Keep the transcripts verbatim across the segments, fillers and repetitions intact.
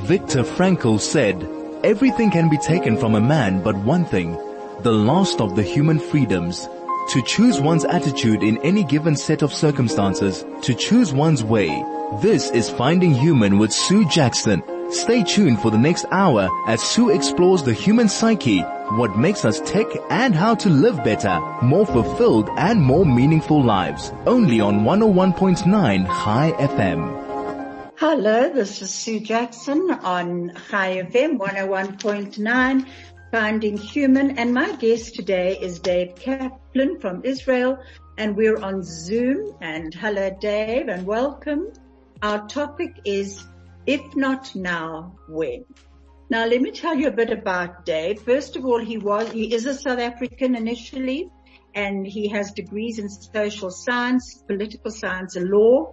Viktor Frankl said, "Everything can be taken from a man but one thing, the last of the human freedoms. To choose one's attitude in any given set of circumstances, to choose one's way." This is Finding Human with Sue Jackson. Stay tuned for the next hour as Sue explores the human psyche, what makes us tick, and how to live better, more fulfilled and more meaningful lives. Only on one oh one point nine High F M. Hello, this is Sue Jackson on High F M one oh one point nine, Finding Human, and my guest today is Dave Kaplan from Israel, and we're on Zoom. And hello, Dave, and welcome. Our topic is, if not now, when? Now, let me tell you a bit about Dave. First of all, he was, he is a South African initially, and he has degrees in social science, political science, and law,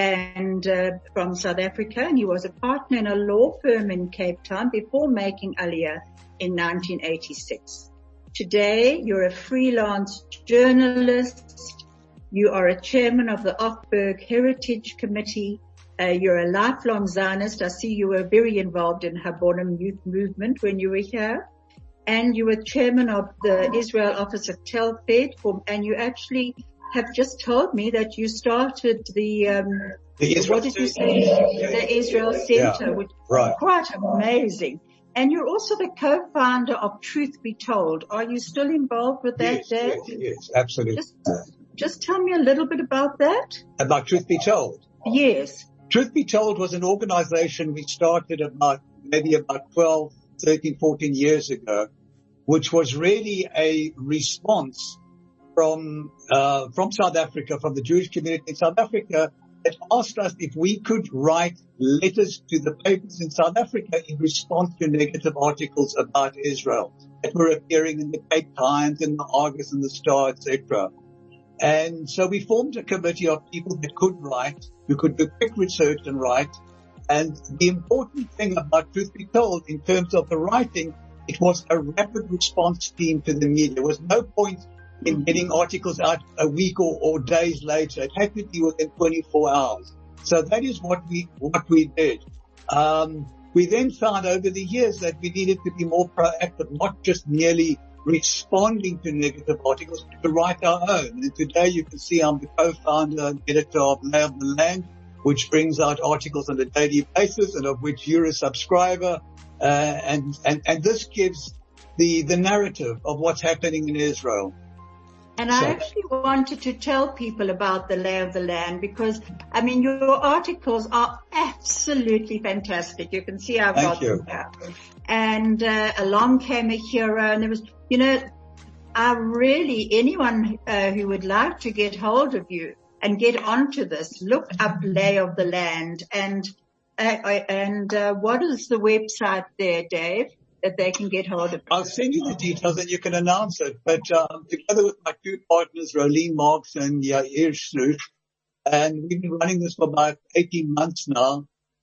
and uh, from South Africa, and he was a partner in a law firm in Cape Town before making Aliyah in nineteen eighty-six. Today, you're a freelance journalist. You are a chairman of the Ockberg Heritage Committee. Uh, you're a lifelong Zionist. I see you were very involved in Habonim youth movement when you were here. And you were chairman of the Israel office of Telfed, and you actually have just told me that you started the, um, the what did you say? Yeah. The Israel Center, Yeah. which Right. is quite amazing. And you're also the co-founder of Truth Be Told. Are you still involved with that, Yes, Dave? yes, yes, absolutely. Just, just tell me a little bit about that. About Truth Be Told. Yes. Truth Be Told was an organization we started about, maybe about twelve, thirteen, fourteen years ago, which was really a response from, uh, from South Africa, from the Jewish community in South Africa, that asked us if we could write letters to the papers in South Africa in response to negative articles about Israel that were appearing in the Cape Times, in the Argus and the Star, et cetera. And so we formed a committee of people that could write, who could do quick research and write. And the important thing about Truth Be Told in terms of the writing, it was a rapid response team to the media. There was no point in getting articles out a week or, or days later. It had to be within twenty-four hours. So that is what we, what we did. Um, we then found over the years that we needed to be more proactive, not just merely responding to negative articles, but to write our own. And today you can see I'm the co-founder and editor of Lay of the Land, which brings out articles on a daily basis and of which you're a subscriber. Uh, and, and, and this gives the, the narrative of what's happening in Israel. And I actually wanted to tell people about the Lay of the Land because, I mean, your articles are absolutely fantastic. You can see I've got them here. And uh, along came a hero, and there was, you know, I really, anyone uh, who would like to get hold of you and get onto this, look up Lay of the Land. And uh, and uh, what is the website there, Dave, that they can get hold of? I'll send you the details and you can announce it. But um, together with my two partners, Rolene Marks and Yair Shluch, and we've been running this for about eighteen months now.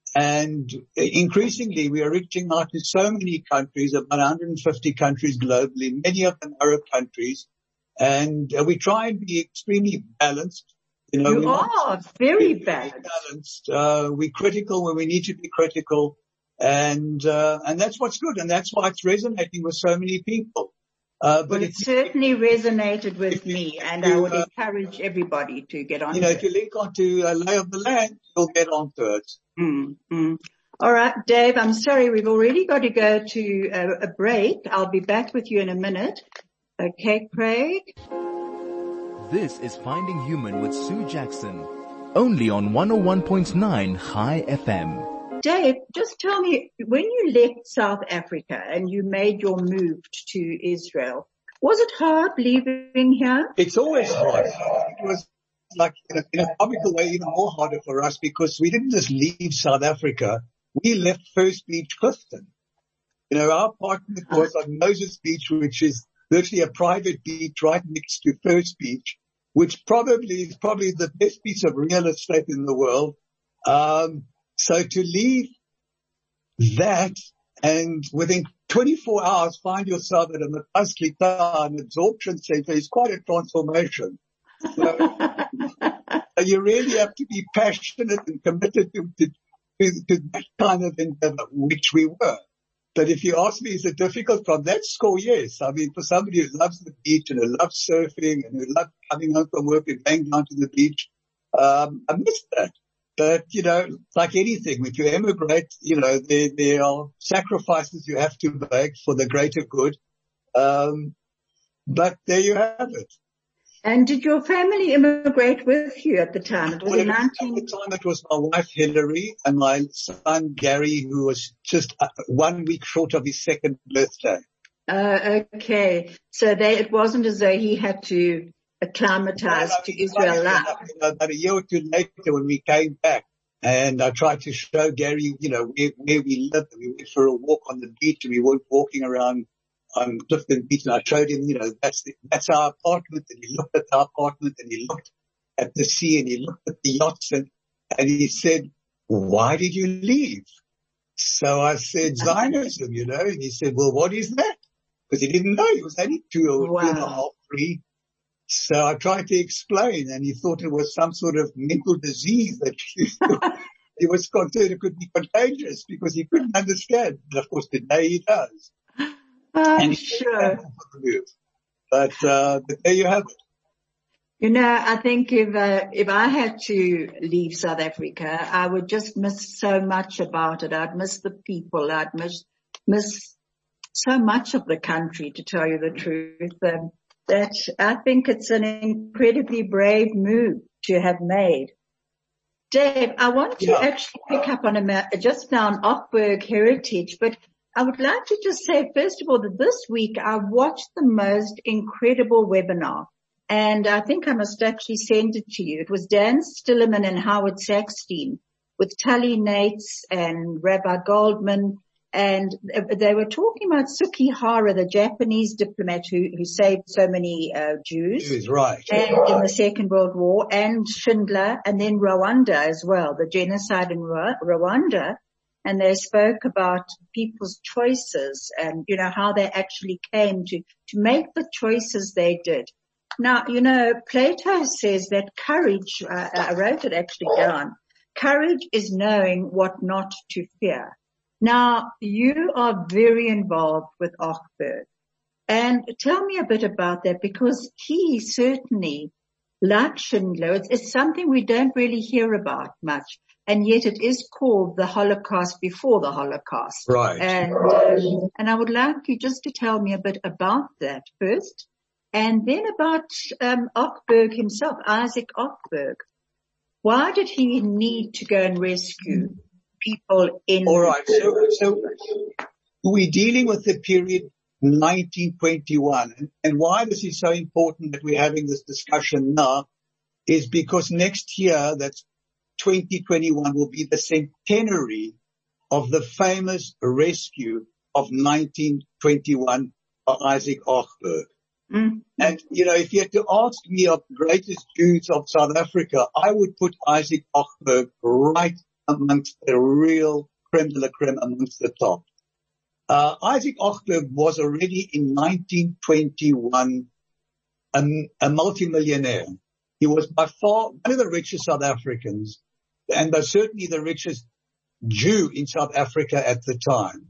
And increasingly, we are reaching out to so many countries, about one hundred fifty countries globally, many of them Arab countries. And uh, we try and be extremely balanced. You know, you are very balanced. balanced. Uh, we're critical when we need to be critical. And, uh, and that's what's good. And that's why it's resonating with so many people. Uh, but well, it certainly resonated with me, and you, I would uh, encourage everybody to get on. You know, it. if you link onto uh, Lay of the Land, you'll get onto it. Mm-hmm. All right, Dave, I'm sorry, we've already got to go to a, a break. I'll be back with you in a minute. Okay, Craig? This is Finding Human with Sue Jackson, only on one oh one point nine High F M. Dave, just tell me, when you left South Africa and you made your move to Israel, was it hard leaving here? It's always hard. It was like, in a, in a comical way, even more harder for us because we didn't just leave South Africa. We left First Beach, Clifton. You know, our apartment was on Moses Beach, which is virtually a private beach right next to First Beach, which probably is probably the best piece of real estate in the world. Um, So to leave that and within twenty-four hours find yourself at a Mekaz Klita, an absorption center, is quite a transformation. So, so you really have to be passionate and committed to, to, to, to that kind of endeavor, which we were. But if you ask me, is it difficult from that score? Yes. I mean, for somebody who loves the beach and who loves surfing and who loves coming home from work and going down to the beach, um, I miss that. But, you know, like anything, if you emigrate, you know, there, there are sacrifices you have to make for the greater good. Um, but there you have it. And did your family immigrate with you at the time? It was well, in nineteen... At the time, it was my wife, Hillary, and my son, Gary, who was just uh, one week short of his second birthday. Uh, okay. So they, it wasn't as though he had to acclimatize well, to Israel life. About a year or two later, when we came back, and I tried to show Gary, you know, where, where we lived. We went for a walk on the beach, and we weren't walking around on Clifton Beach, and I showed him, you know, that's the, that's our apartment, and he looked at our apartment, and he looked at the sea, and he looked at the yachts, and, and he said, why did you leave? So I said, Zionism, you know, and he said, well, what is that? Because he didn't know. He was only two or wow. two and a half, three. So I tried to explain, and he thought it was some sort of mental disease that he, he was concerned it could be contagious because he couldn't understand. And of course, today he does. I'm sure. But, uh, but there you have it. You know, I think if, uh, if I had to leave South Africa, I would just miss so much about it. I'd miss the people. I'd miss, miss so much of the country, to tell you the truth. Um, that I think it's an incredibly brave move to have made. Dave, I want to yeah. actually pick up on a, just now on Ochberg heritage, but I would like to just say, first of all, that this week I watched the most incredible webinar, and I think I must actually send it to you. It was Dan Stillerman and Howard Sackstein with Tully Nates and Rabbi Goldman, and they were talking about Sukihara, the Japanese diplomat who, who saved so many uh, Jews. He was right. And in the Second World War, and Schindler, and then Rwanda as well, the genocide in Rwanda. And they spoke about people's choices and, you know, how they actually came to, to make the choices they did. Now, you know, Plato says that courage, uh, I wrote it actually down, courage is knowing what not to fear. Now, you are very involved with Ochberg. And tell me a bit about that, because he certainly, like Schindler, it's, it's something we don't really hear about much. And yet it is called the Holocaust before the Holocaust. Right. And, um, and I would like you just to tell me a bit about that first. And then about, um, Ochberg himself, Isaac Ochberg. Why did he need to go and rescue people in... All right. So, so we're dealing with the period nineteen twenty-one. And, and why this is so important that we're having this discussion now is because next year, that's twenty twenty-one, will be the centenary of the famous rescue of nineteen twenty-one by Isaac Ochberg. Mm-hmm. And, you know, if you had to ask me of the greatest Jews of South Africa, I would put Isaac Ochberg right amongst the real creme de la creme, amongst the top. Uh, Isaac Ochberg was already in nineteen twenty-one a, a multimillionaire. He was by far one of the richest South Africans, and was certainly the richest Jew in South Africa at the time.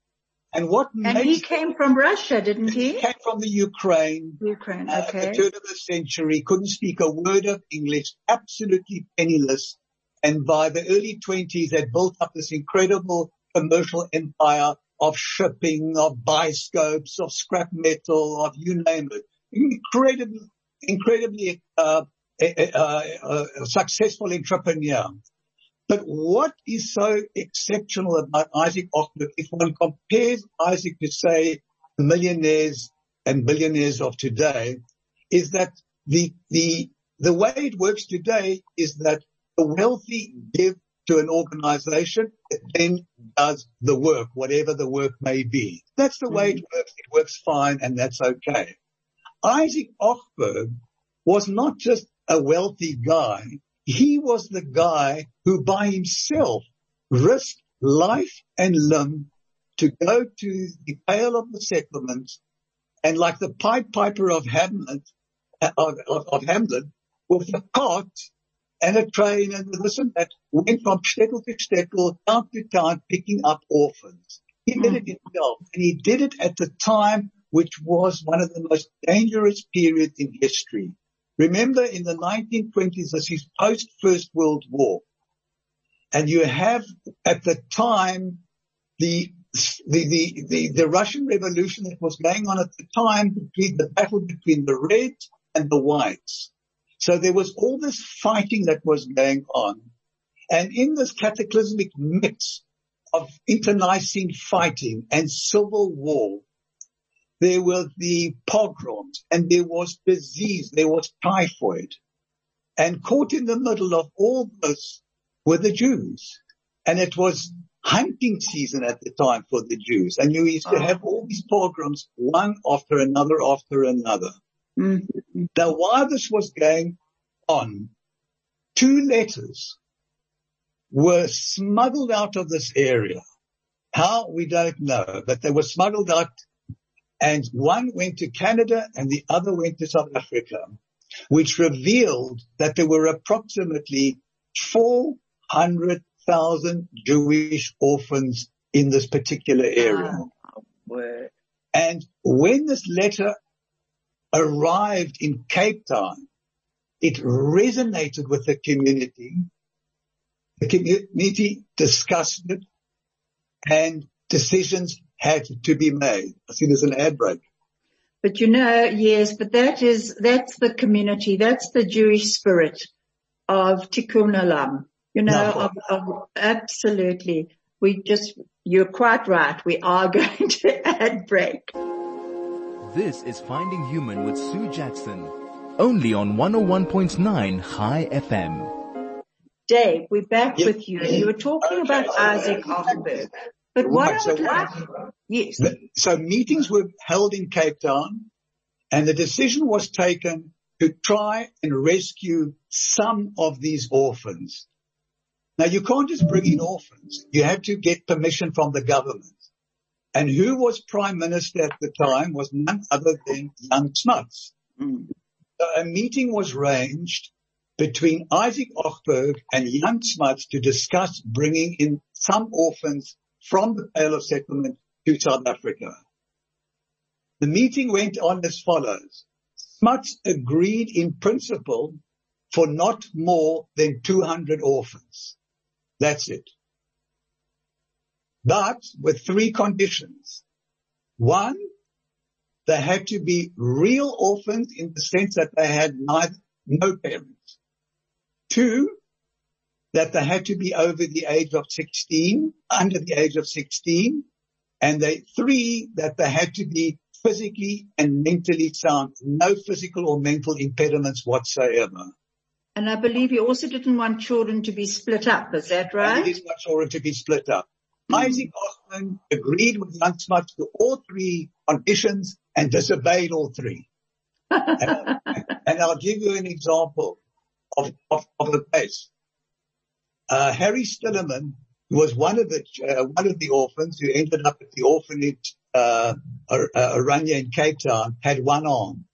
And what and he came from Russia, didn't he? He came from the Ukraine. Ukraine, okay. Uh, at the turn of the century, couldn't speak a word of English, absolutely penniless. And by the early twenties, had built up this incredible commercial empire of shipping, of bioscopes, of scrap metal, of you name it. Incredibly, incredibly, uh, uh, uh, successful entrepreneur. But what is so exceptional about Isaac Ochberg, if one compares Isaac to, say, millionaires and billionaires of today, is that the, the, the way it works today is that the wealthy give to an organization that then does the work, whatever the work may be. That's the way it works. It works fine, and that's okay. Isaac Ochberg was not just a wealthy guy. He was the guy who by himself risked life and limb to go to the Pale of the Settlement, and like the Pied Piper of Hamlet, of, of, of Hamlet, with a cart and a train and this and that, went from shtetl to shtetl, town to town, picking up orphans. He did it himself, and he did it at the time which was one of the most dangerous periods in history. Remember, in the nineteen twenties, this is post-First World War, and you have at the time the the the the, the Russian Revolution that was going on at the time, between the battle between the Reds and the Whites. So there was all this fighting that was going on, and in this cataclysmic mix of internecine fighting and civil war, there were the pogroms, and there was disease, there was typhoid. And caught in the middle of all this were the Jews. And it was hunting season at the time for the Jews. And you used to have all these pogroms, one after another after another. Mm-hmm. Now, while this was going on, two letters were smuggled out of this area. How? We don't know, but they were smuggled out, and one went to Canada and the other went to South Africa, which revealed that there were approximately four hundred thousand Jewish orphans in this particular area. Oh, and when this letter arrived in Cape Town, it resonated with the community. The community discussed it, and decisions had to be made. I see there's an ad break. But you know, yes, but that is, that's the community, that's the Jewish spirit of Tikkun Olam. You know, No. of, of, absolutely. We just, you're quite right. We are going to ad break. This is Finding Human with Sue Jackson, only on one oh one point nine High F M. Dave, we're back Yes. with you. You were talking Okay. about Isaac Ochberg. But what Right, I so would like, yes, So meetings were held in Cape Town, and the decision was taken to try and rescue some of these orphans. Now, you can't just bring in orphans. You had to get permission from the government. And who was prime minister at the time was none other than Jan Smuts. Mm. So a meeting was arranged between Isaac Ochberg and Jan Smuts to discuss bringing in some orphans from the Pale of Settlement to South Africa. The meeting went on as follows. Smuts agreed in principle for not more than two hundred orphans. That's it. But with three conditions. One, they had to be real orphans in the sense that they had neither, no parents. Two, that they had to be over the age of sixteen, under the age of sixteen. And they, three, that they had to be physically and mentally sound, no physical or mental impediments whatsoever. and I believe you also didn't want children to be split up. Is that And right? it is not children to be split up. Mm. Isaac Ochberg agreed with Jan Smuts to all three conditions and disobeyed all three. and, and I'll give you an example of, of, of the case. Uh, Harry Stillerman, who was one of the, uh, one of the orphans who ended up at the orphanage, uh, Oranje in Cape Town, had one arm.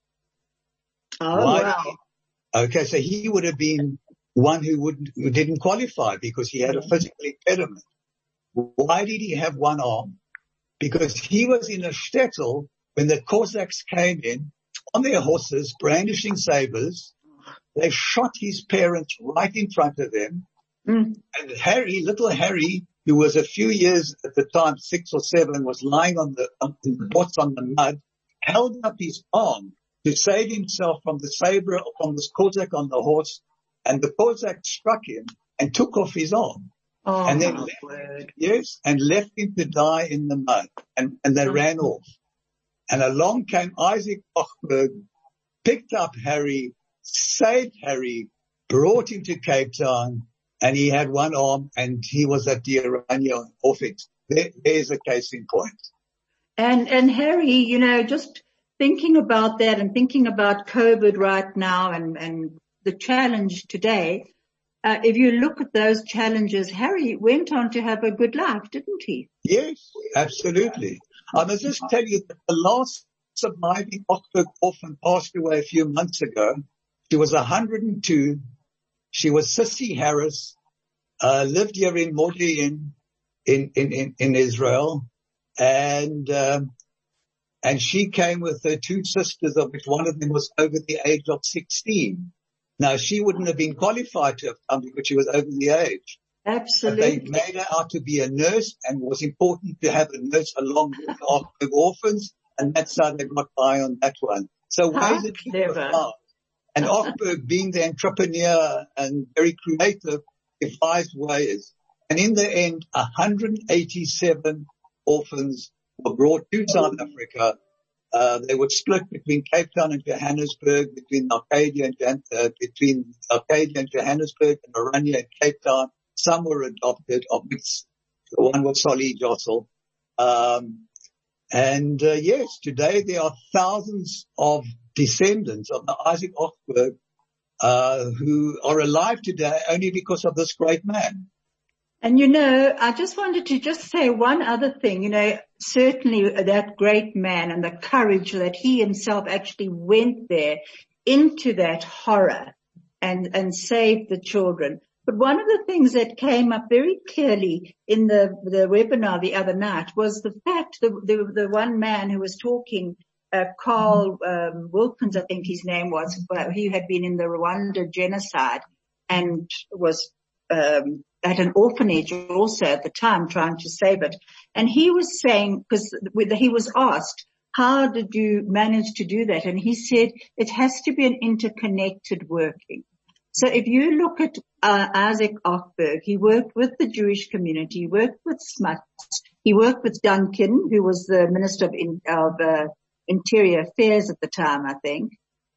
Oh, Why? wow. Okay, so he would have been one who wouldn't, who didn't qualify because he had a physical impediment. Why did he have one arm? Because he was in a shtetl when the Cossacks came in on their horses, brandishing sabers. They shot his parents right in front of him. Mm. And Harry, little Harry, who was a few years at the time, six or seven, was lying on the, on the bots on the mud, held up his arm to save himself from the saber, from this Cossack on the horse, and the Cossack struck him and took off his arm. Oh, and then my left, word. yes, and left him to die in the mud, and, and they Oh. ran off. And along came Isaac Ochberg, picked up Harry, saved Harry, brought him to Cape Town, and he had one arm, and he was at the Oranje orphanage. There, there's a case in point. And, and Harry, you know, just thinking about that and thinking about COVID right now and, and the challenge today, uh, if you look at those challenges, Harry went on to have a good life, didn't he? Yes, absolutely. I must just tell you that the last surviving Ochberg orphan passed away a few months ago. She was one hundred two, She was Sissy Harris, uh, lived here in Modi'in in, in, in, in Israel. And, um, and she came with her two sisters, of which one of them was over the age of sixteen. Now, she wouldn't have been qualified to have come because she was over the age. Absolutely. But they made her out to be a nurse, and it was important to have a nurse along with the orphans, and that's how they got by on that one. So How ways it clever. And Ochberg, being the entrepreneur and very creative, devised ways. And in the end, one hundred eighty-seven orphans were brought to South Africa. Uh, they were split between Cape Town and Johannesburg, between Arcadia and, Jan- uh, between Arcadia and Johannesburg, and Oranje and Cape Town. Some were adopted, of which the one was Solly Jossel. Um, and, uh, yes, today there are thousands of descendants of the Isaac Ochberg, uh, who are alive today only because of this great man. And you know, I just wanted to just say one other thing, you know, certainly that great man and the courage that he himself actually went there into that horror and, and saved the children. But one of the things that came up very clearly in the, the webinar the other night was the fact that the, the one man who was talking, uh, Carl, um, Wilkins, I think his name was, he had been in the Rwanda genocide and was, um, at an orphanage also at the time trying to save it. And he was saying, because he was asked, how did you manage to do that? And he said, it has to be an interconnected working. So if you look at uh, Isaac Ochberg, he worked with the Jewish community, he worked with Smuts, he worked with Duncan, who was the Minister of, in, of uh, Interior Affairs at the time, I think.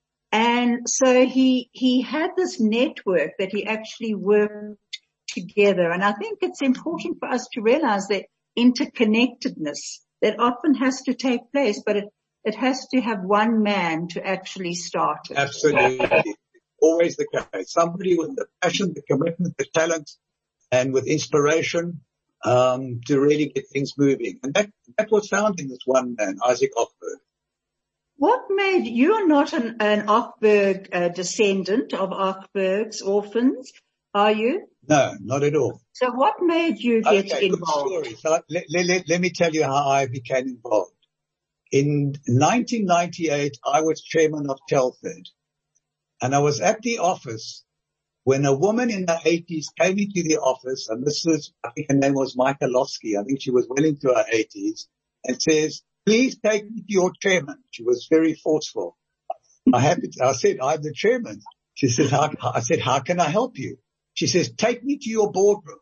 And so he, he had this network that he actually worked together. And I think it's important for us to realize that interconnectedness that often has to take place, but it, it has to have one man to actually start it. Absolutely. Always the case. Somebody with the passion, the commitment, the talent, and with inspiration, um, to really get things moving. And that, that was found in this one man, Isaac Ochberg. What made, you are not an, an Ochberg uh, descendant of Ochberg's orphans, are you? No, not at all. So what made you get okay, involved? Good story. So let, let, let me tell you how I became involved. In nineteen ninety-eight, I was chairman of Telford, and I was at the office when a woman in the eighties came into the office, and this was, I think her name was Michalowski. I think she was well into her eighties, and says, please take me to your chairman. She was very forceful. I had to, I said, I'm the chairman. She says, how, I said, how can I help you? She says, take me to your boardroom.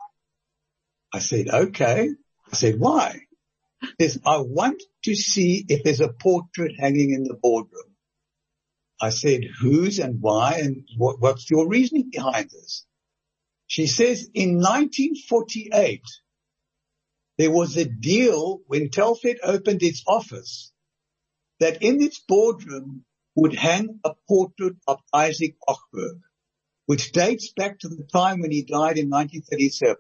I said, okay. I said, why? She says, I want to see if there's a portrait hanging in the boardroom. I said, whose and why and what, what's your reasoning behind this? She says, in nineteen forty-eight, there was a deal when Telford opened its office that in its boardroom would hang a portrait of Isaac Ochberg, which dates back to the time when he died in nineteen thirty-seven.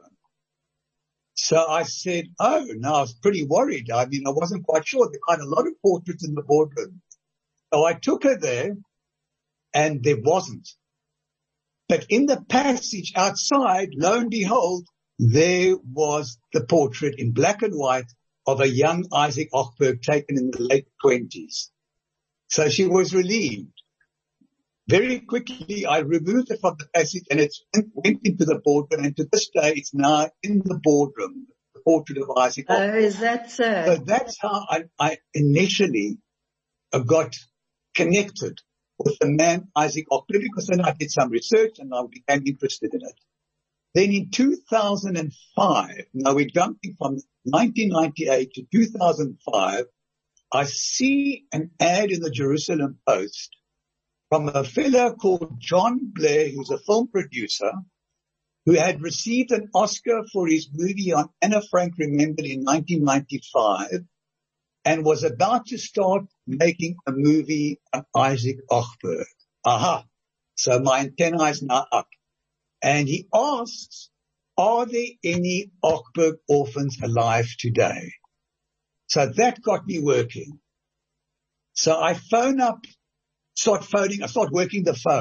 So I said, oh, no, I was pretty worried. I mean, I wasn't quite sure. There were quite a lot of portraits in the boardroom. So I took her there, and there wasn't. But in the passage outside, lo and behold, there was the portrait in black and white of a young Isaac Ochberg taken in the late twenties. So she was relieved. Very quickly, I removed it from the passage and it went into the boardroom, and to this day, it's now in the boardroom, the portrait of Isaac Ochberg. Oh, is that so? So that's how I, I initially got connected with the man Isaac Ochberg, because then I did some research and I became interested in it. Then in two thousand five, now we're jumping from nineteen ninety-eight to two thousand five, I see an ad in the Jerusalem Post from a fellow called John Blair, who's a film producer, who had received an Oscar for his movie on Anna Frank Remembered in nineteen ninety-five, and was about to start making a movie on Isaac Ochberg. Aha. So my antenna is now up. And he asks, are there any Ochberg orphans alive today? So that got me working. So I phone up, start phoning, I start working the phone.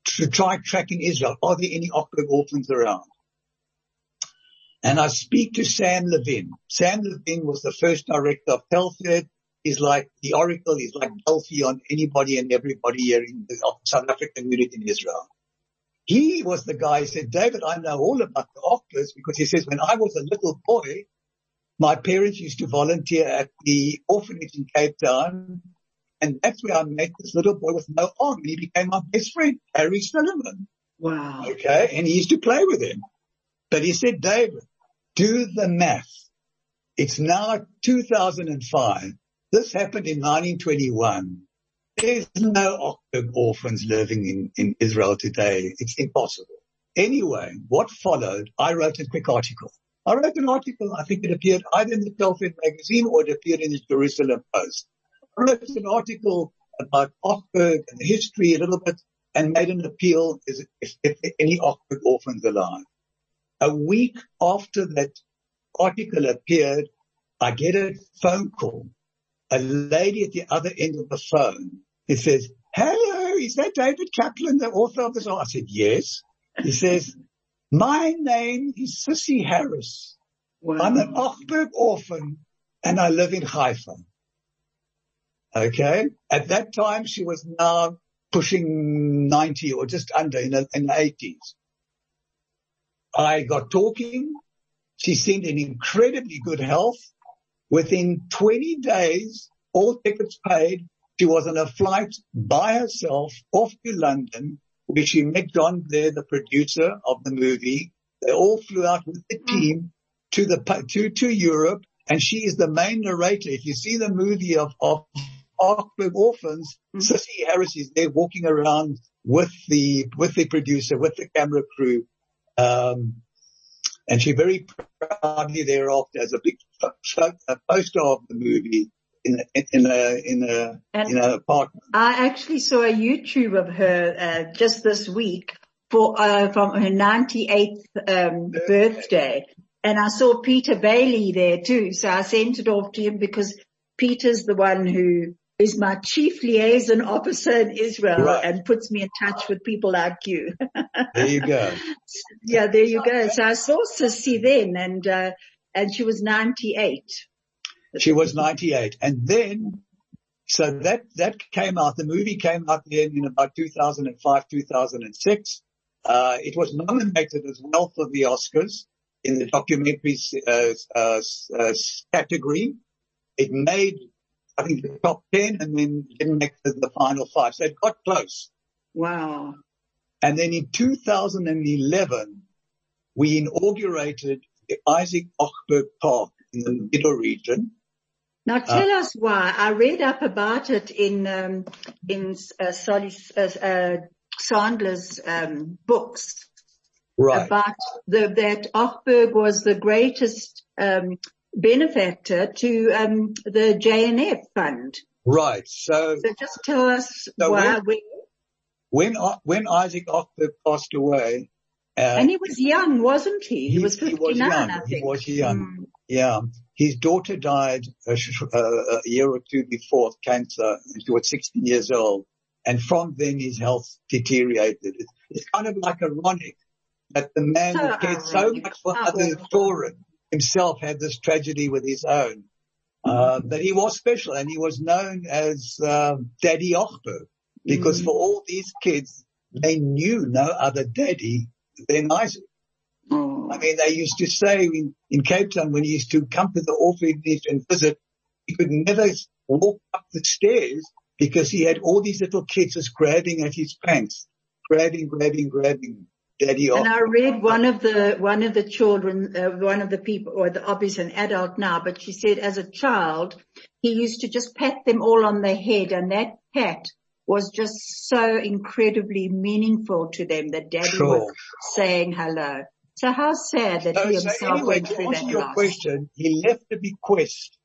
to try tracking Israel. Are there any Ochberg orphans around? And I speak to Sam Levin. Sam Levin was the first director of Telford. He's like the oracle. He's like Delphi on anybody and everybody here in the South African community in Israel. He was the guy who said, David, I know all about the Ochbergs, because he says, when I was a little boy, my parents used to volunteer at the orphanage in Cape Town, and that's where I met this little boy with no arm, and he became my best friend, Harry Silliman. Wow. Okay, and he used to play with him. But he said, David, do the math. It's now two thousand five. This happened in nineteen twenty-one. There's no Ochberg orphans living in, in Israel today. It's impossible. Anyway, what followed, I wrote a quick article. I wrote an article, I think it appeared either in the Telford magazine or it appeared in the Jerusalem Post. I wrote an article about Ochberg and the history a little bit and made an appeal if, if, if any Ochberg orphans alive. A week after that article appeared, I get a phone call. A lady at the other end of the phone. It says, hello, is that David Kaplan, the author of this? I said, yes. He says, my name is Sissy Harris. Wow. I'm an Ochberg orphan and I live in Haifa. Okay. At that time, she was now pushing ninety or just under in the, in the eighties. I got talking. She seemed in incredibly good health. Within twenty days, all tickets paid, she was on a flight by herself off to London, where she met John Blair, the producer of the movie. They all flew out with the team to the to to Europe, and she is the main narrator. If you see the movie of of Ochberg Orphans, mm-hmm. Sissy Harris is there walking around with the with the producer, with the camera crew. Um, And she very proudly thereafter as a big a poster of the movie in a, in a, in a, and in a apartment. I actually saw a YouTube of her, uh, just this week for, uh, from her ninety-eighth, um, birthday. birthday. And I saw Peter Bailey there too. So I sent it off to him because Peter's the one who is my chief liaison officer in Israel, right, and puts me in touch with people like you. There you go. Yeah, there you go. So I saw Sissy then, and uh, and she was ninety-eight. She was ninety-eight. And then, so that, that came out, the movie came out then in about two thousand five, two thousand six. Uh, it was nominated as well for the Oscars in the documentaries uh, uh, uh, category. It made, I think, the top ten and then didn't make the, the final five. So it got close. Wow. And then in two thousand eleven, we inaugurated the Isaac Ochberg Park in the Middle region. Now tell uh, us why. I read up about it in, um, in, uh, Solly, uh, uh, Sandler's, um, books. Right. About the, that Ochberg was the greatest, um, benefactor to, um, the J N F fund. Right. So, so just tell us so why. When, when, when Isaac Ochberg passed away, uh, and he was young, wasn't he? He, he was fifty-nine, he was young. I think. He was young. Mm. Yeah. His daughter died a, a year or two before of cancer, and she was sixteen years old. And from then his health deteriorated. It's, it's kind of like ironic that the man so who cared so much for other children himself had this tragedy with his own. Uh, but he was special, and he was known as uh, Daddy Ochberg, because mm. for all these kids, they knew no other daddy than Isaac. Oh. I mean, they used to say in, in Cape Town, when he used to come to the orphanage and visit, he could never walk up the stairs because he had all these little kids just grabbing at his pants, grabbing, grabbing, grabbing. Daddy and I read one of the, one of the children, uh, one of the people, or the, obviously an adult now, but she said as a child, he used to just pat them all on the head, and that pat was just so incredibly meaningful to them that Daddy sure. was saying hello. So how sad that so, he himself so anyway, went to through answer that your loss. question, he left a bequest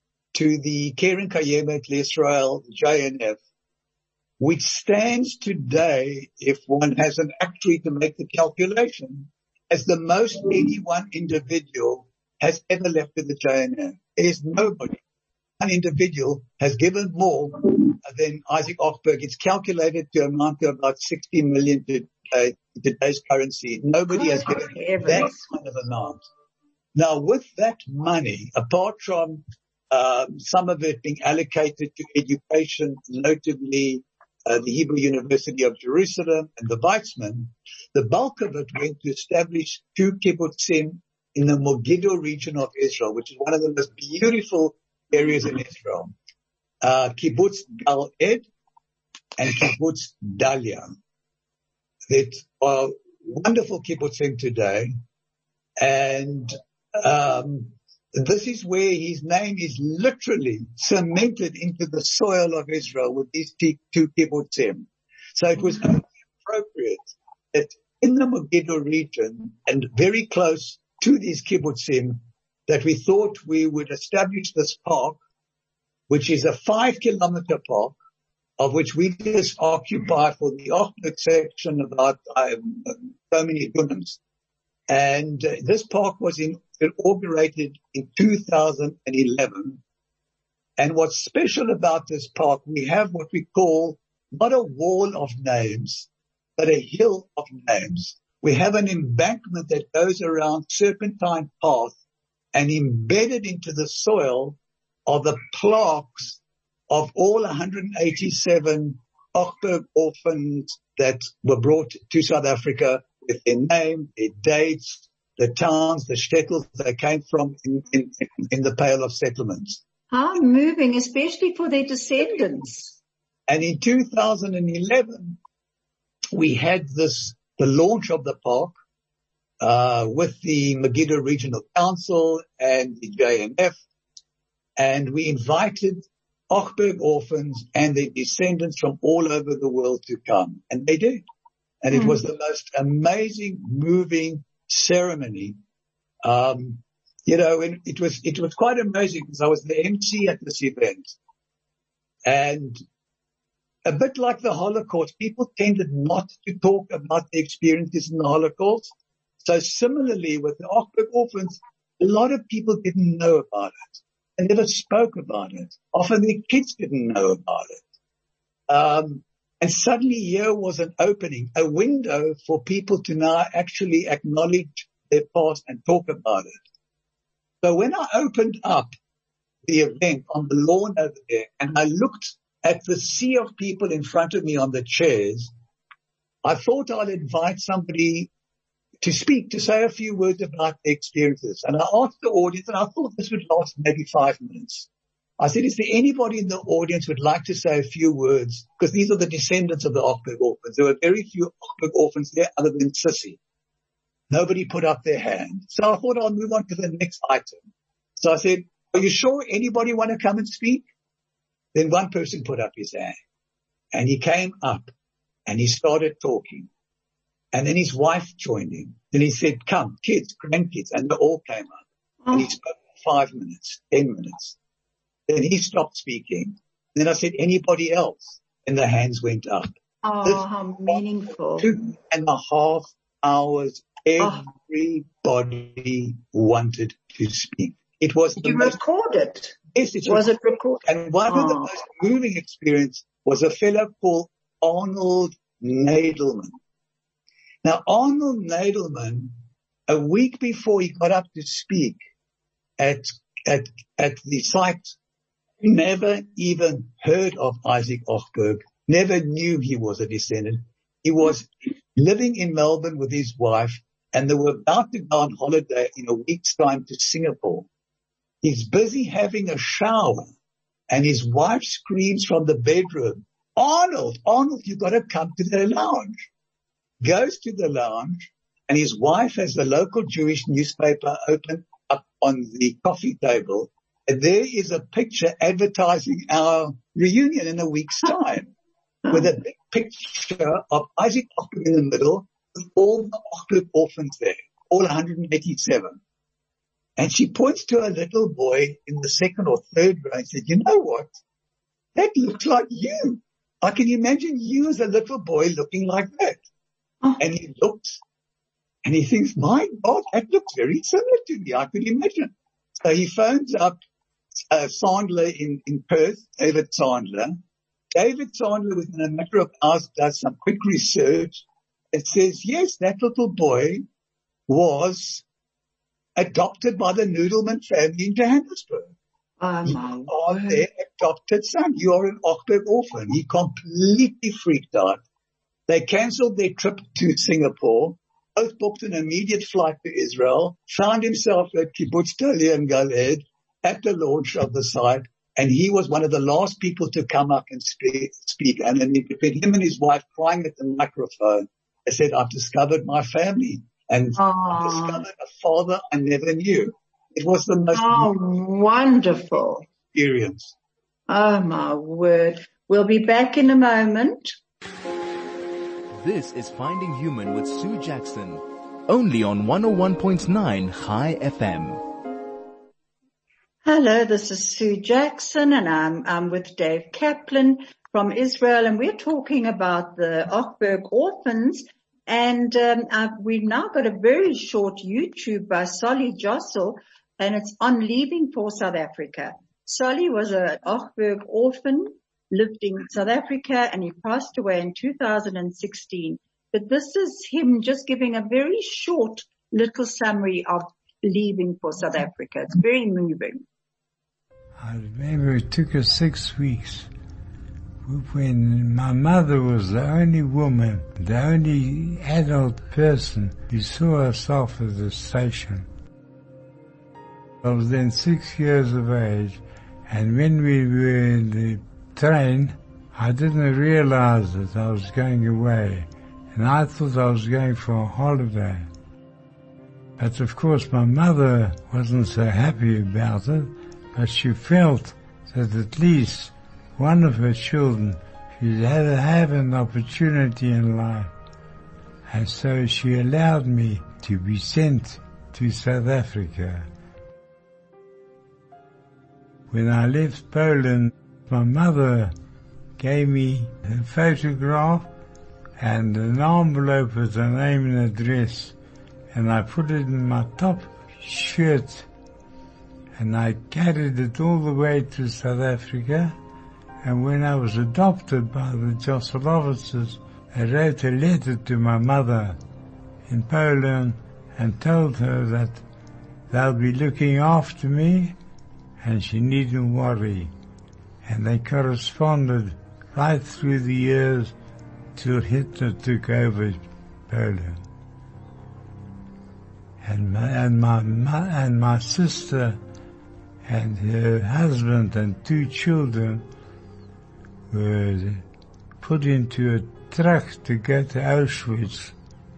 to the Keren Kayemet Israel J N F, which stands today, if one has an actuary to make the calculation, as the most any one individual has ever left with the J N F. There's nobody. one individual has given more than Isaac Ochberg. It's calculated to amount to about sixty million to uh, today's currency. Nobody has given that kind of amount. Now, with that money, apart from um, some of it being allocated to education, notably uh, the Hebrew University of Jerusalem and the Weizmann, the bulk of it went to establish two kibbutzim in the Megiddo region of Israel, which is one of the most beautiful areas in Israel. Uh, Kibbutz Gal Ed and Kibbutz Dalia. That are wonderful kibbutzim today. And um, this is where his name is literally cemented into the soil of Israel with these two kibbutzim. So it was only appropriate that in the Megiddo region and very close to these kibbutzim that we thought we would establish this park, which is a five kilometer park, of which we just occupy for the Ochberg section about um, so many dunams. And uh, this park was in, inaugurated in two thousand eleven. And what's special about this park, we have what we call not a wall of names, but a hill of names. We have an embankment that goes around Serpentine Path, and embedded into the soil are the plaques of all one hundred eighty-seven Ochberg orphans that were brought to South Africa with their name, their dates, the towns, the shtetls they came from in, in, in the Pale of Settlements. How moving, especially for their descendants. And in two thousand eleven, we had this, the launch of the park, uh, with the Megiddo Regional Council and the J N F. And we invited Ochberg orphans and their descendants from all over the world to come. And they did. And mm. it was the most amazing, moving ceremony. Um, you know, and it was, it was quite amazing because I was the M C at this event. And a bit like the Holocaust, people tended not to talk about their experiences in the Holocaust. So similarly with the Ochberg orphans, a lot of people didn't know about it. They never spoke about it. Often their kids didn't know about it. Um, and suddenly here was an opening, a window for people to now actually acknowledge their past and talk about it. So when I opened up the event on the lawn over there and I looked at the sea of people in front of me on the chairs, I thought I'd invite somebody to speak, to say a few words about their experiences. And I asked the audience, and I thought this would last maybe five minutes. I said, is there anybody in the audience who would like to say a few words? Because these are the descendants of the Ochberg orphans. There were very few Ochberg orphans there other than Sissy. Nobody put up their hand. So I thought I'll move on to the next item. So I said, are you sure anybody want to come and speak? Then one person put up his hand. And he came up and he started talking. And then his wife joined him. Then he said, come, kids, grandkids. And they all came up. Oh. And he spoke for five minutes, ten minutes. Then he stopped speaking. Then I said, anybody else? And the hands went up. Oh, this how meaningful. Two and a half hours, everybody oh. wanted to speak. It was Did the you most, record it? Yes, it's was recorded. it recorded? And one oh. of the most moving experience was a fellow called Arnold Nadelman. Now, Arnold Nadelman, a week before he got up to speak at, at, at the site, never even heard of Isaac Ochberg, never knew he was a descendant. He was living in Melbourne with his wife, and they were about to go on holiday in a week's time to Singapore. He's busy having a shower, and his wife screams from the bedroom, Arnold, Arnold, you've got to come to the lounge. Goes to the lounge, and his wife has the local Jewish newspaper open up on the coffee table, and there is a picture advertising our reunion in a week's time, with a big picture of Isaac Ochberg in the middle, with all the Ochberg orphans there, all one hundred eighty-seven. And she points to a little boy in the second or third row and said, you know what? That looks like you. I can imagine you as a little boy looking like that. Oh. And he looks and he thinks, my God, that looks very similar to me. I could imagine. So he phones up uh, Sandler in, in Perth, David Sandler. David Sandler, within a matter of hours, does some quick research and says, yes, that little boy was adopted by the Noodleman family in Johannesburg. Oh, You my are word. their adopted son. You are an Ochberg orphan. He completely freaked out. They cancelled their trip to Singapore, both booked an immediate flight to Israel, found himself at Kibbutz Dalian Galed at the launch of the site, and he was one of the last people to come up and speak. speak. And then between him and his wife crying at the microphone, they said, I've discovered my family, and Oh. I've discovered a father I never knew. It was the most Oh, wonderful. experience. Oh, my word. We'll be back in a moment. This is Finding Human with Sue Jackson, only on one oh one point nine High F M. Hello, this is Sue Jackson, and I'm, I'm with Dave Kaplan from Israel, and we're talking about the Ochberg orphans. And um, uh, we've now got a very short YouTube by Solly Jossel, and it's on leaving for South Africa. Solly was an Ochberg orphan, lived in South Africa, and he passed away in two thousand sixteen. But this is him just giving a very short little summary of leaving for South Africa. It's very moving. I remember it took us six weeks when my mother was the only woman, the only adult person who saw herself at the station. I was then six years of age, and when we were in the train, I didn't realize that I was going away, and I thought I was going for a holiday. But of course my mother wasn't so happy about it, but she felt that at least one of her children should have, have an opportunity in life. And so she allowed me to be sent to South Africa. When I left Poland, my mother gave me a photograph and an envelope with a name and address, and I put it in my top shirt, and I carried it all the way to South Africa. And when I was adopted by the Josselowitz, I wrote a letter to my mother in Poland and told her that they'll be looking after me and she needn't worry. And they corresponded right through the years till Hitler took over Poland. And my, and my, my, and my sister and her husband and two children were put into a truck to go to Auschwitz.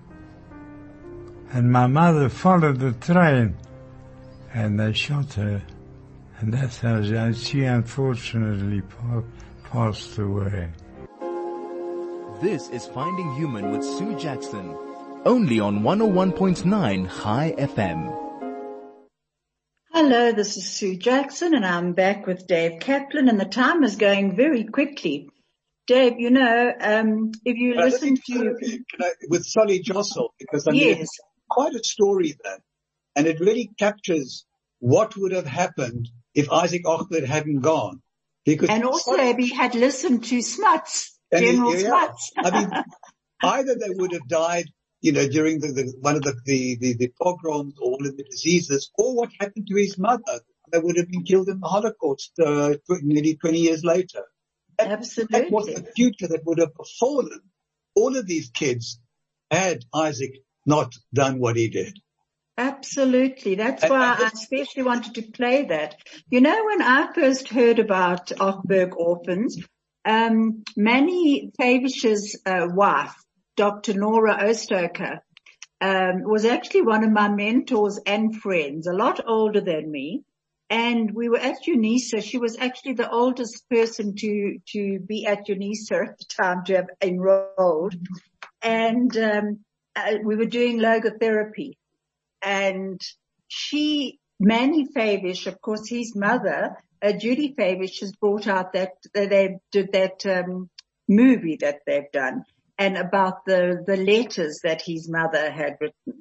And my mother followed the train and they shot her. And that's how she unfortunately passed away. This is Finding Human with Sue Jackson, only on one oh one point nine High F M. Hello, this is Sue Jackson, and I'm back with Dave Kaplan, and the time is going very quickly. Dave, you know, um, if you But listen I think, to... can I, with Solly Jossel, because I mean, Yes. it's quite a story there, and it really captures what would have happened if Isaac Ochberg hadn't gone. Because And also if he had listened to Smuts, And it- General yeah, Smuts. I mean, either they would have died, you know, during the, the one of the, the, the, the pogroms or one of the diseases, or what happened to his mother. They would have been killed in the Holocaust uh, nearly twenty years later. That, Absolutely. that was the future that would have befallen all of these kids had Isaac not done what he did. Absolutely. That's And- why and I especially wanted to play that. You know, when I first heard about Ochberg orphans, um, Manny Favish's uh, wife, Doctor Nora Ostoker, um, was actually one of my mentors and friends, a lot older than me. And we were at UNISA. She was actually the oldest person to, to be at UNISA at the time, to have enrolled. And, um, uh, we were doing logotherapy. And she, Manny Favish, of course, his mother, uh, Judy Favish, has brought out that, uh, they did that, um, movie that they've done, and about the, the letters that his mother had written.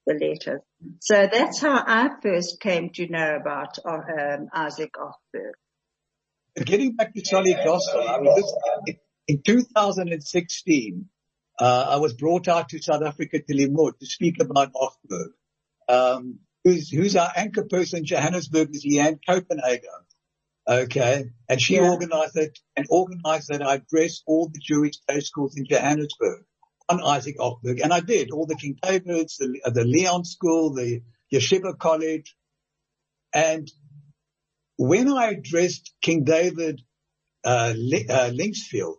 the letters. So that's how I first came to know about um, Isaac Ochberg. Getting back to Solly Gospel, I mean, this, in two thousand sixteen, uh, I was brought out to South Africa to Limot to speak about Ochberg. Um, who's, who's our anchor person in Johannesburg is Leanne Copenhagen. Okay. And she yeah. organized it and organized that I addressed all the Jewish day schools in Johannesburg on Isaac Ochberg. And I did all the King David's, the, the Leon School, the Yeshiva College. And when I addressed King David, uh, uh Linksfield,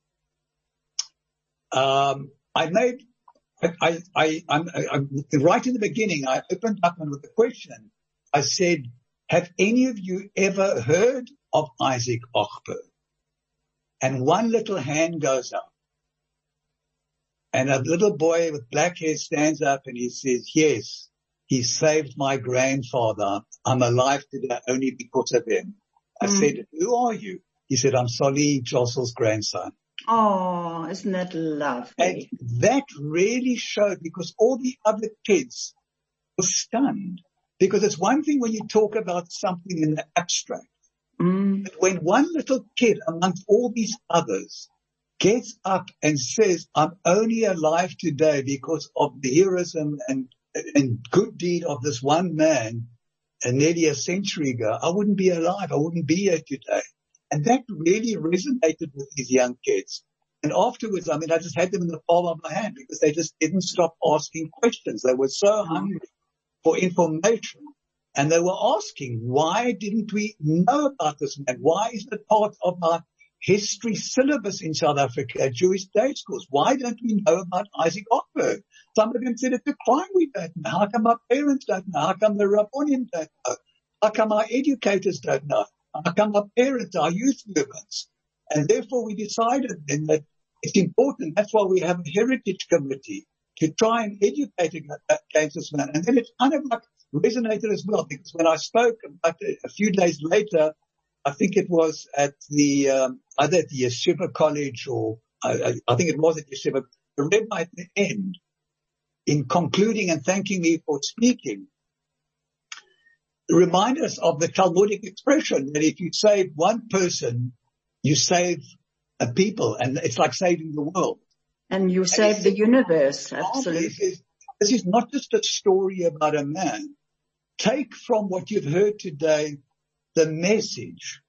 um, I made, I, I, I, I'm, I'm, right in the beginning, I opened up with a question. I said, have any of you ever heard of Isaac Ochberg? And one little hand goes up. And a little boy with black hair stands up and he says, yes, he saved my grandfather. I'm alive today only because of him. I mm. said, who are you? He said, I'm Solly Jossel's grandson. Oh, isn't that lovely? And that really showed, because all the other kids were stunned. Because it's one thing when you talk about something in the abstract. Mm. But when one little kid amongst all these others gets up and says, I'm only alive today because of the heroism and, and good deed of this one man, and nearly a century ago, I wouldn't be alive. I wouldn't be here today. And that really resonated with these young kids. And afterwards, I mean, I just had them in the palm of my hand because they just didn't stop asking questions. They were so hungry for information. And they were asking, why didn't we know about this man? Why is it part of our history syllabus in South Africa at Jewish day schools? Why don't we know about Isaac Ochberg? Some of them said it's a crime we don't know. How come our parents don't know? How come the Rabbonim don't know? How come our educators don't know? How come our parents, our youth movements? And therefore we decided then that it's important. That's why we have a heritage committee to try and educate against this man. And then it kind of like resonated as well, because when I spoke about it a few days later, I think it was at the, um, either at the Yeshiva College or I, I think it was at Yeshiva, the rabbi at the end, in concluding and thanking me for speaking, remind us of the Talmudic expression that if you save one person, you save a people, and it's like saving the world. And you save and the universe, absolutely. This is, this is not just a story about a man. Take from what you've heard today the message.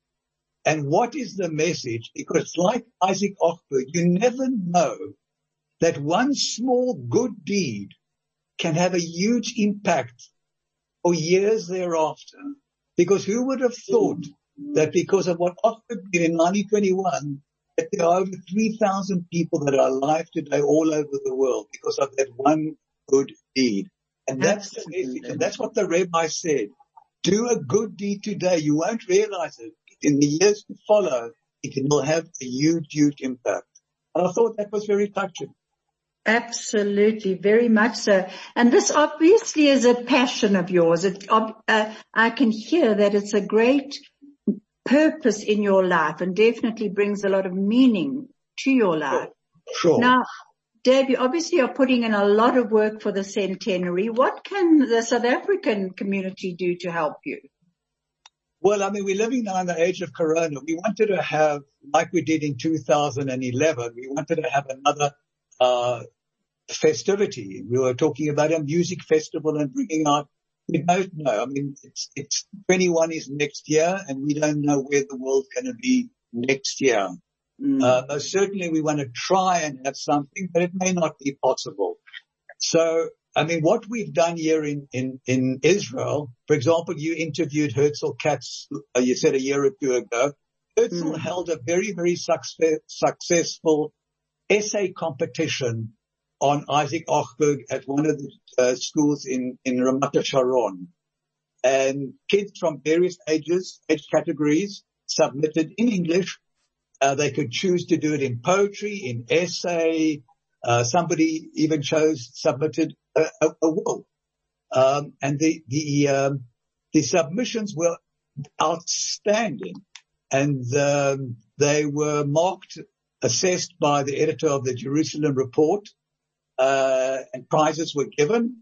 And what is the message? Because like Isaac Ochberg, you never know that one small good deed can have a huge impact for years thereafter. Because who would have thought that because of what Ochberg did in nineteen twenty-one, that there are over three thousand people that are alive today all over the world because of that one good deed. And that's the message. And that's what the rabbi said. Do a good deed today. You won't realize it. In the years to follow, it will have a huge, huge impact. And I thought that was very touching. Absolutely, very much so. And this obviously is a passion of yours. It, uh, I can hear that it's a great purpose in your life and definitely brings a lot of meaning to your life. Sure. Sure. Now, Dave, you obviously are putting in a lot of work for the centenary. What can the South African community do to help you? Well, I mean, we're living now in the age of Corona. We wanted to have, like we did in two thousand eleven, we wanted to have another uh festivity. We were talking about a music festival and bringing out, we don't know. I mean, it's, it's twenty-one is next year and we don't know where the world's going to be next year. Mm. Uh, most certainly we want to try and have something, but it may not be possible. So, I mean, what we've done here in, in, in Israel, for example, you interviewed Herzl Katz, uh, you said a year or two ago. Herzl mm. held a very, very success, successful essay competition on Isaac Ochberg at one of the uh, schools in, in Ramat Sharon. And kids from various ages, age categories submitted in English. Uh, they could choose to do it in poetry, in essay. Uh, somebody even chose, submitted a, a, a will. Um, and the, the, um, the submissions were outstanding. And, um, they were marked, assessed by the editor of the Jerusalem Report, uh, and prizes were given.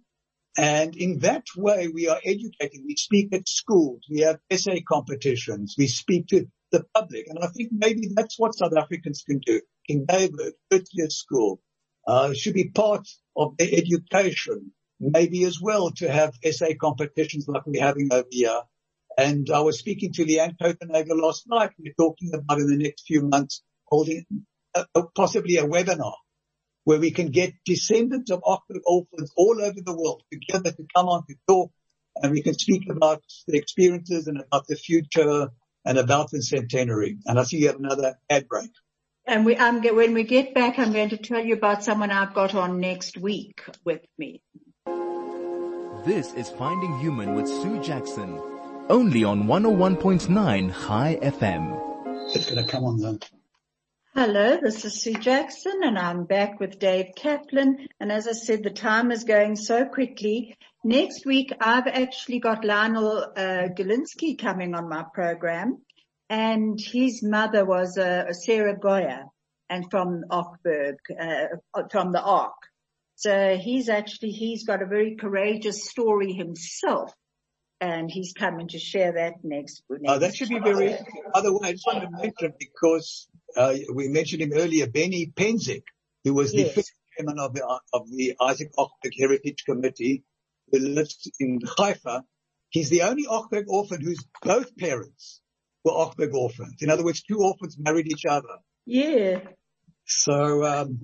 And in that way, we are educating. We speak at schools. We have essay competitions. We speak to the public. And I think maybe that's what South Africans can do. King David, Curtius School, uh, should be part of their education. Maybe as well to have essay competitions like we're having over here. And I was speaking to Leanne Kotenegger last night. We're talking about in the next few months holding a, a, possibly a webinar where we can get descendants of Ochberg orphans all over the world together to come on to talk, and we can speak about the experiences and about the future and about the centenary. And I see you have another ad break. And we, um, when we get back, I'm going to tell you about someone I've got on next week with me. This is Finding Human with Sue Jackson, only on one oh one point nine High F M. It's going to come on then. Hello, this is Sue Jackson, and I'm back with Dave Kaplan. And as I said, the time is going so quickly. Next week, I've actually got Lionel uh, Galinsky coming on my program, and his mother was uh, Sarah Goya, and from Ochberg, uh, from the Ark. So he's actually, he's got a very courageous story himself, and he's coming to share that next week. Uh, that should be very, by the way, I just want to mention, because uh, we mentioned him earlier, Benny Penzik, who was the yes. first chairman of the, of the Isaac Ochberg Heritage Committee, who lives in Haifa. He's the only Ochberg orphan whose both parents were Ochberg orphans. In other words, two orphans married each other. Yeah. So, um,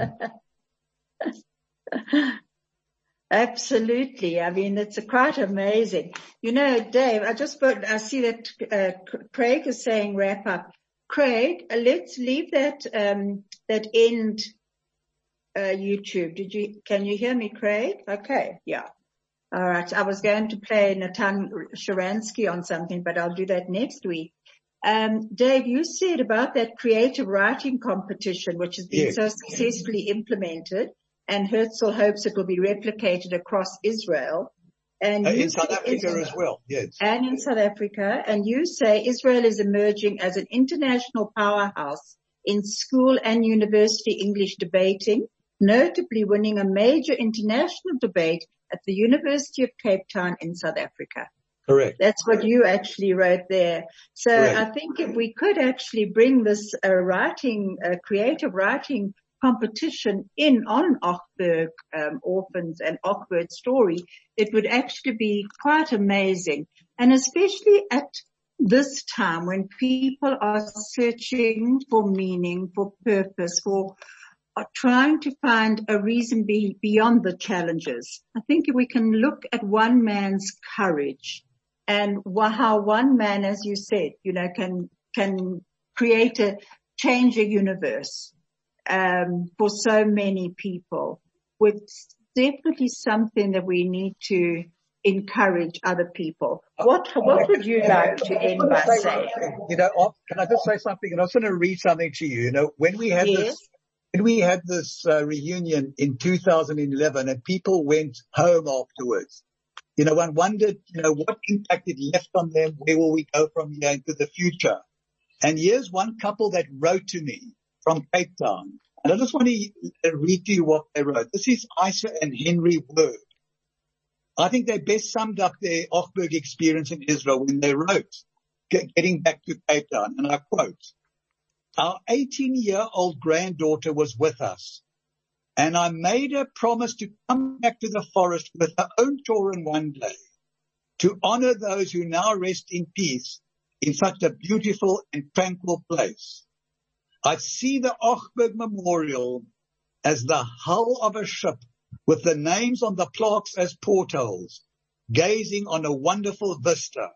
absolutely. I mean, it's a quite amazing. You know, Dave, I just put, I see that uh, Craig is saying wrap up. Craig, uh, let's leave that, um, that end, uh, YouTube. Did you, can you hear me, Craig? Okay. Yeah. All right. I was going to play Natan Sharansky on something, but I'll do that next week. Um, Dave, you said about that creative writing competition, which has been yes. so successfully implemented, and Herzl hopes it will be replicated across Israel. And uh, in South Africa as well, yes. And in South Africa. And you say Israel is emerging as an international powerhouse in school and university English debating, notably winning a major international debate at the University of Cape Town in South Africa. Correct. That's what you actually wrote there. So Correct. I think if we could actually bring this uh, writing, uh, creative writing competition in on Ochberg um, orphans and Ochberg story, it would actually be quite amazing. And especially at this time when people are searching for meaning, for purpose, for are trying to find a reason be, beyond the challenges. I think we can look at one man's courage and how one man, as you said, you know, can, can create a, change a universe, um, for so many people. It's definitely something that we need to encourage other people. What, what would you like to end by saying? You know, can I just say something? And I was going to read something to you. You know, when we had yes. this, when we had this uh, reunion in two thousand eleven and people went home afterwards, you know, one wondered, you know, what impact it left on them. Where will we go from here into the future? And here's one couple that wrote to me from Cape Town. And I just want to read to you what they wrote. This is Isa and Henry Word. I think they best summed up their Ochberg experience in Israel when they wrote, getting back to Cape Town. And I quote, our eighteen-year-old granddaughter was with us, and I made her promise to come back to the forest with her own children one day to honor those who now rest in peace in such a beautiful and tranquil place. I see the Ochberg Memorial as the hull of a ship with the names on the plaques as portholes, gazing on a wonderful vista.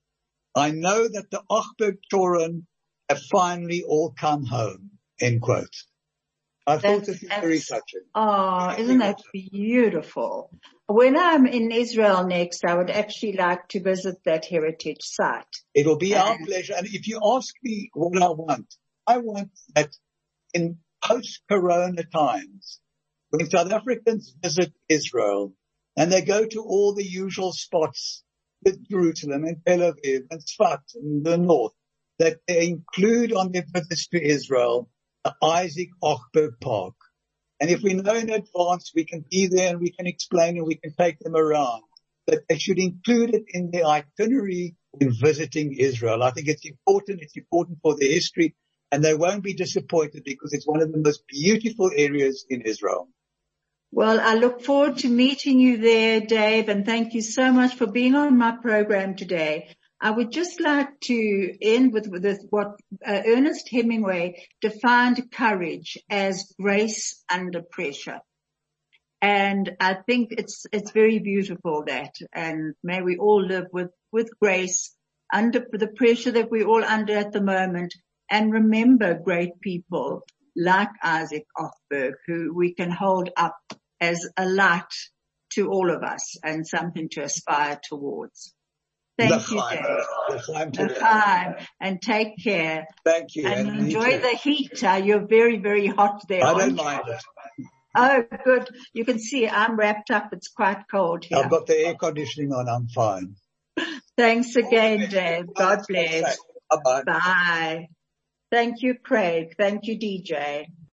I know that the Ochberg children have finally all come home, end quote. I That's, thought this was very touching. Oh, isn't that beautiful? When I'm in Israel next, I would actually like to visit that heritage site. It'll be and, our pleasure. And if you ask me what I want, I want that in post-Corona times, when South Africans visit Israel and they go to all the usual spots with Jerusalem and Tel Aviv and Tzfat in the north, that they include on their visits to Israel the Isaac Ochberg Park And if we know in advance, we can be there and we can explain and we can take them around. But they should include it in their itinerary when visiting Israel. I think it's important. It's important for the history, and they won't be disappointed because it's one of the most beautiful areas in Israel. Well, I look forward to meeting you there, Dave, and thank you so much for being on my program today. I would just like to end with, with what uh, Ernest Hemingway defined courage as grace under pressure. And I think it's, it's very beautiful that, and may we all live with, with grace under the pressure that we're all under at the moment, and remember great people like Isaac Othberg, who we can hold up as a light to all of us and something to aspire towards. Thank you, Dave. L'chaim, and take care. Thank you. And, and enjoy the heat. Uh, you're very, very hot there. I don't mind it. Oh, good. You can see I'm wrapped up. It's quite cold here. I've got the air conditioning on. I'm fine. Thanks again, Dave. God bless. Bye-bye. Bye. Thank you, Craig. Thank you, D J.